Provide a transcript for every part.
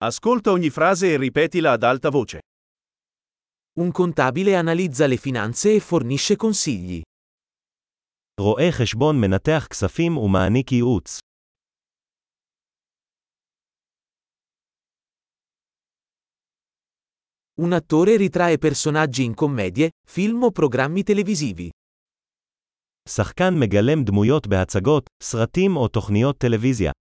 Ascolta ogni frase e ripetila ad alta voce. Un contabile analizza le finanze e fornisce consigli. רואה חשבון מנתח כספים ומעניק ייעוץ. Un attore ritrae personaggi in commedie, film o programmi televisivi. שחקן מגלם דמויות בהצגות, סרטים או תוכניות טלוויזיה.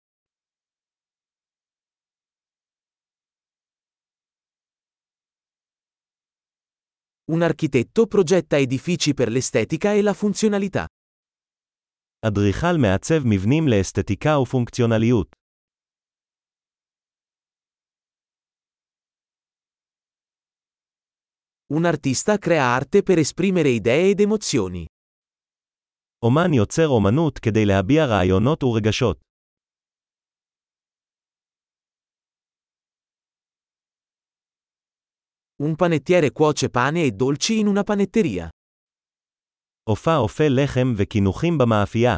Un architetto progetta edifici per l'estetica e la funzionalità. אדריכל מעצב מבנים לאסתטיקה ופונקציונליות. Un artista crea arte per esprimere idee ed emozioni. אומן יוצר אומנות כדי להביע רעיונות ורגשות. Un panettiere cuoce pane e dolci in una panetteria. אופה אופה לחם וקינוחים במאפייה.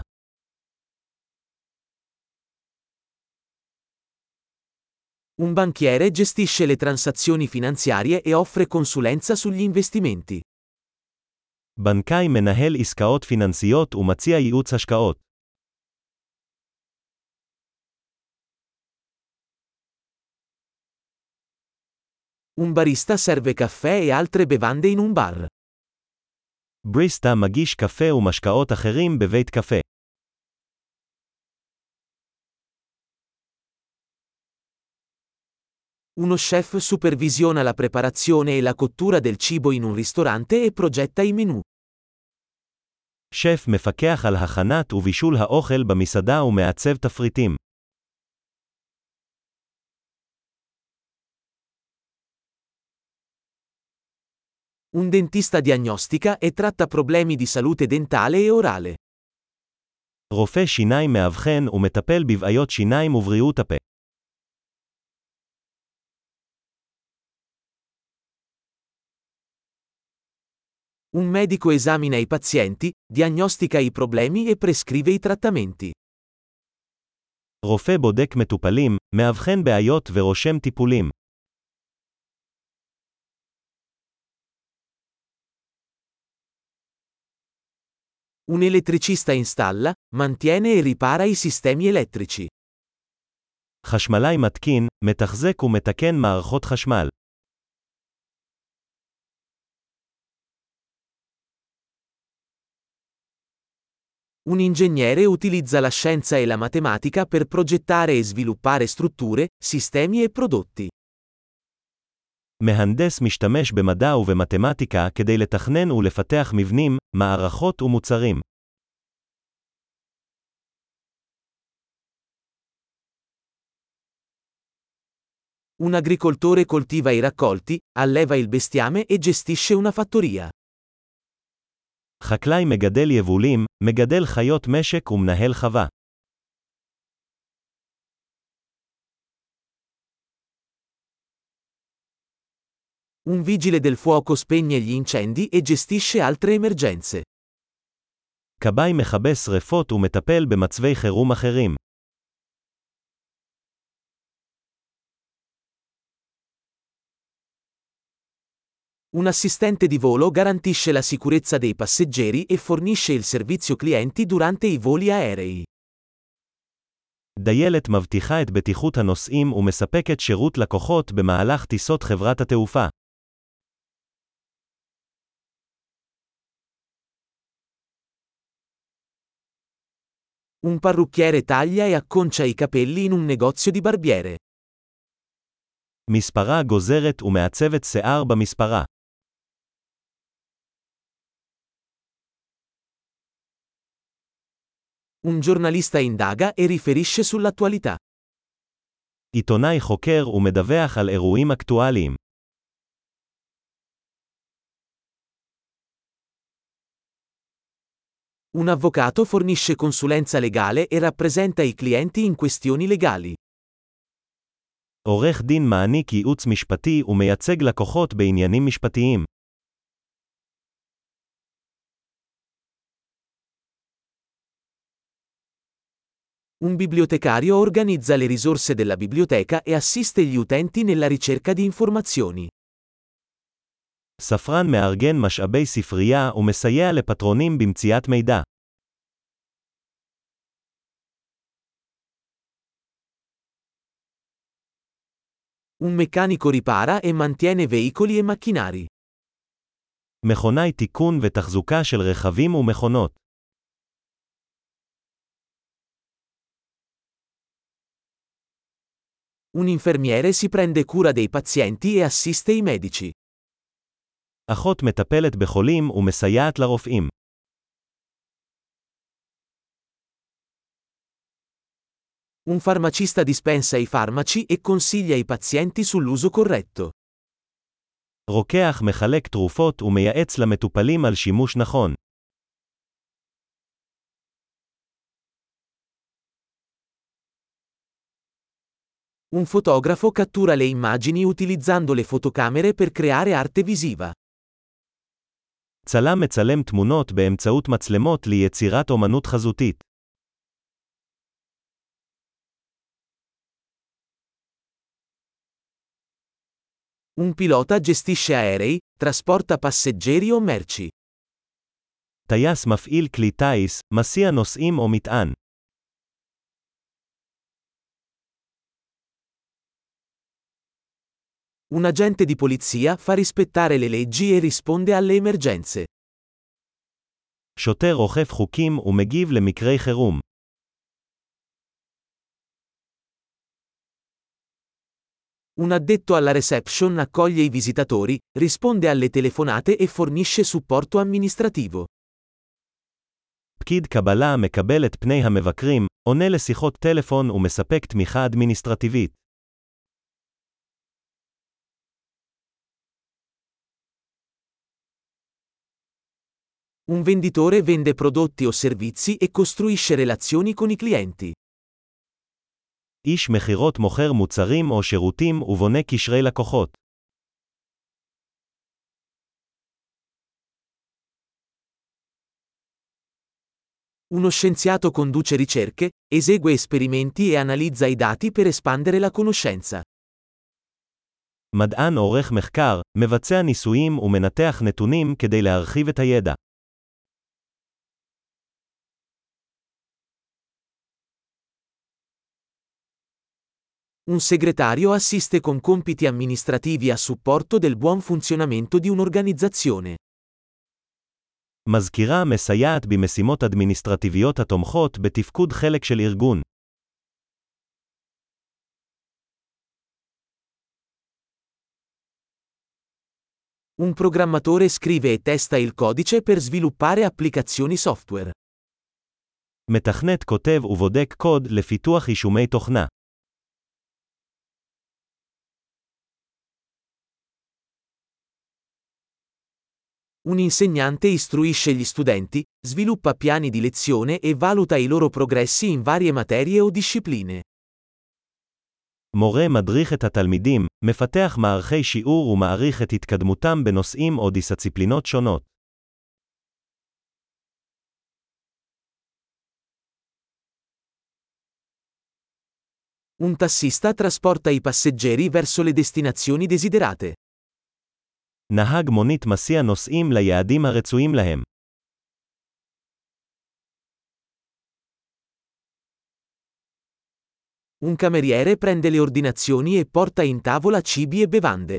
Un banchiere gestisce le transazioni finanziarie e offre consulenza sugli investimenti. בנקאי מנהל עסקאות פיננסיות ומציע ייעוץ השקעות. Un barista serve caffè e altre bevande in un bar. בריסטה מגיש קפה ומשקאות אחרים בבית קפה. Uno chef supervisiona la preparazione e la cottura del cibo in un ristorante e progetta i menù. שף מפקח על הכנת ובישול האוכל במסעדה ומעצב תפריטים. Un dentista diagnostica e tratta problemi di salute dentale e orale. רופא שיניים מאבחן ומטפל בבעיות שיניים ובריאות הפה. Un medico esamina i pazienti, diagnostica i problemi e prescrive i trattamenti. רופא בודק מטופלים, מאבחן בעיות ורושם טיפולים. Un elettricista installa, mantiene e ripara i sistemi elettrici. חשמלאי מתקין, מתחזק ומתקן מערכות חשמל. Un ingegnere utilizza la scienza e la matematica per progettare e sviluppare strutture, sistemi e prodotti. מהנדס משתמש במדע ובמתמטיקה כדי לתכנן ולפתח מבנים, מערכות ומוצרים. Un agricoltore coltiva i raccolti, alleva il bestiame e gestisce una fattoria. חקלאי מגדל יבולים, מגדל חיות משק ומנהל חווה. Un vigile del fuoco spegne gli incendi e gestisce altre emergenze. כבאי מכבה שרפות ומטפל במצבי חירום אחרים. Un assistente di volo garantisce la sicurezza dei passeggeri e fornisce il servizio clienti durante i voli aerei. דיילת מבטיחה את בטיחות הנוסעים ומספקת שירות לקוחות במהלך טיסות חברת התעופה. Un parrucchiere taglia e acconcia i capelli in un negozio di barbiere. מספרה גוזרת ומעצבת שיער במספרה. Un giornalista indaga e riferisce sull'attualità. עיתונאי חוקר ומדווח על אירועים אקטואליים. Un avvocato fornisce consulenza legale e rappresenta i clienti in questioni legali. עורך דין מעניק ייעוץ משפטי ומייצג לקוחות בעניינים משפטיים. Un bibliotecario organizza le risorse della biblioteca e assiste gli utenti nella ricerca di informazioni. ספרן מארגן משאבי ספרייה ומסייע לפטרונים במציאת מידע. Un meccanico ripara e mantiene veicoli e macchinari. מכונאי תיקון ותחזוקה של רכבים ומכונות. Un infermiere si prende cura dei pazienti e assiste i medici. אחות מטפלת בחולים ומסייעת לרופאים. Un farmacista dispensa i farmaci e consiglia i pazienti sull'uso corretto. רוקח מחלק תרופות ומייעץ למטופלים על שימוש נכון. Un fotografo cattura le immagini utilizzando le fotocamere per creare arte visiva. צלם מצלם תמונות באמצעות מצלמות ליצירת אומנות חזותית. Un pilota gestisce aerei, trasporta passeggeri o merci. טייס מפעיל כלי טיס, מסיע נוסעים או מטען. Un agente di polizia fa rispettare le leggi e risponde alle emergenze. שוטר אוכף חוקים ומגיב למקרי חירום. Un addetto alla reception accoglie i visitatori, risponde alle telefonate e fornisce supporto amministrativo. פקיד קבלה מקבל את פני המבקרים, עונה לשיחות טלפון ומספק תמיכה אדמיניסטרטיבית. Un venditore vende prodotti o servizi e costruisce relazioni con i clienti. איש מכירות מוכר מוצרים או שירותים ובונה קשרי לקוחות. Uno scienziato conduce ricerche, esegue esperimenti e analizza i dati per espandere la conoscenza. מדען עורך מחקר, מבצע ניסויים ומנתח נתונים כדי להרחיב את הידע. Un segretario assiste con compiti amministrativi a supporto del buon funzionamento di un'organizzazione. מזכירה מסייעת במשימות אדמיניסטרטיביות התומכות בתפקוד חלק של ארגון. Un programmatore scrive e testa il codice per sviluppare applicazioni software. מתכנת כותב ובודק קוד לפיתוח יישומי תוכנה. Un insegnante istruisce gli studenti, sviluppa piani di lezione e valuta i loro progressi in varie materie o discipline. מורה מדריך את התלמידים, מפתח מערכי שיעור ומעריך את התקדמותם בנושאים או דיסציפלינות שונות. Un tassista trasporta i passeggeri verso le destinazioni desiderate. נהג מונית מסיע נוסעים ליעדים הרצויים להם. Un cameriere prende le ordinazioni e porta in tavola cibi e bevande.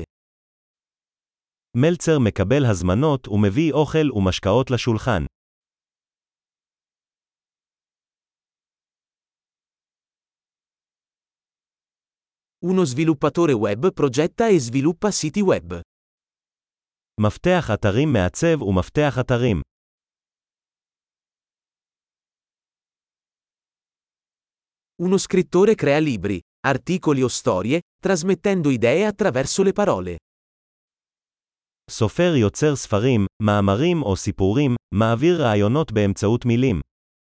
מלצר מקבל הזמנות ומביא אוכל ומשקאות לשולחן. Uno sviluppatore web progetta e sviluppa siti web. מפתח אתרים מעצב ומפתח אתרים. Uno scrittore crea libri, articoli o storie, trasmettendo idee attraverso le parole. סופר יוצר ספרים, מאמרים או סיפורים, מעביר רעיונות באמצעות מילים.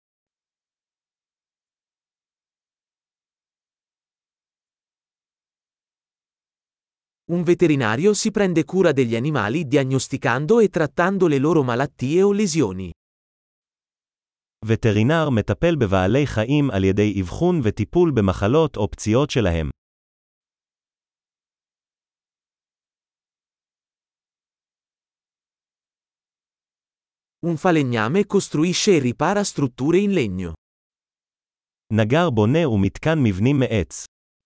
Un veterinario si prende cura degli animali diagnosticando e trattando le loro malattie o lesioni. וטרינר מטפל בבעלי חיים על ידי אבחון וטיפול במחלות או פציעות שלהם. Un falegname costruisce e ripara strutture in legno. נגר בונה ומתקן מבנים מעץ.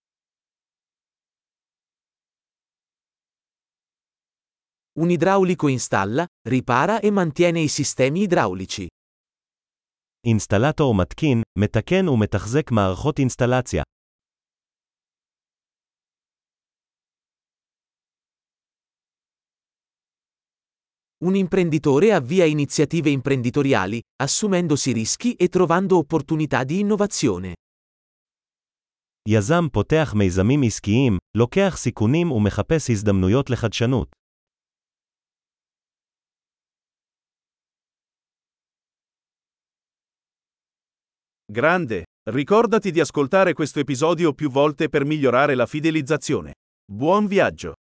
Un idraulico installa, ripara e mantiene i sistemi idraulici. אינסטלטור מתקין, מתקן ומתחזק מערכות אינסטלציה. Un imprenditore avvia iniziative imprenditoriali, assumendosi rischi e trovando opportunità di innovazione. יזם פותח מיזמים עסקיים, לוקח סיכונים ומחפש הזדמנויות לחדשנות. Grande! Ricordati di ascoltare questo episodio più volte per migliorare la fidelizzazione. Buon viaggio!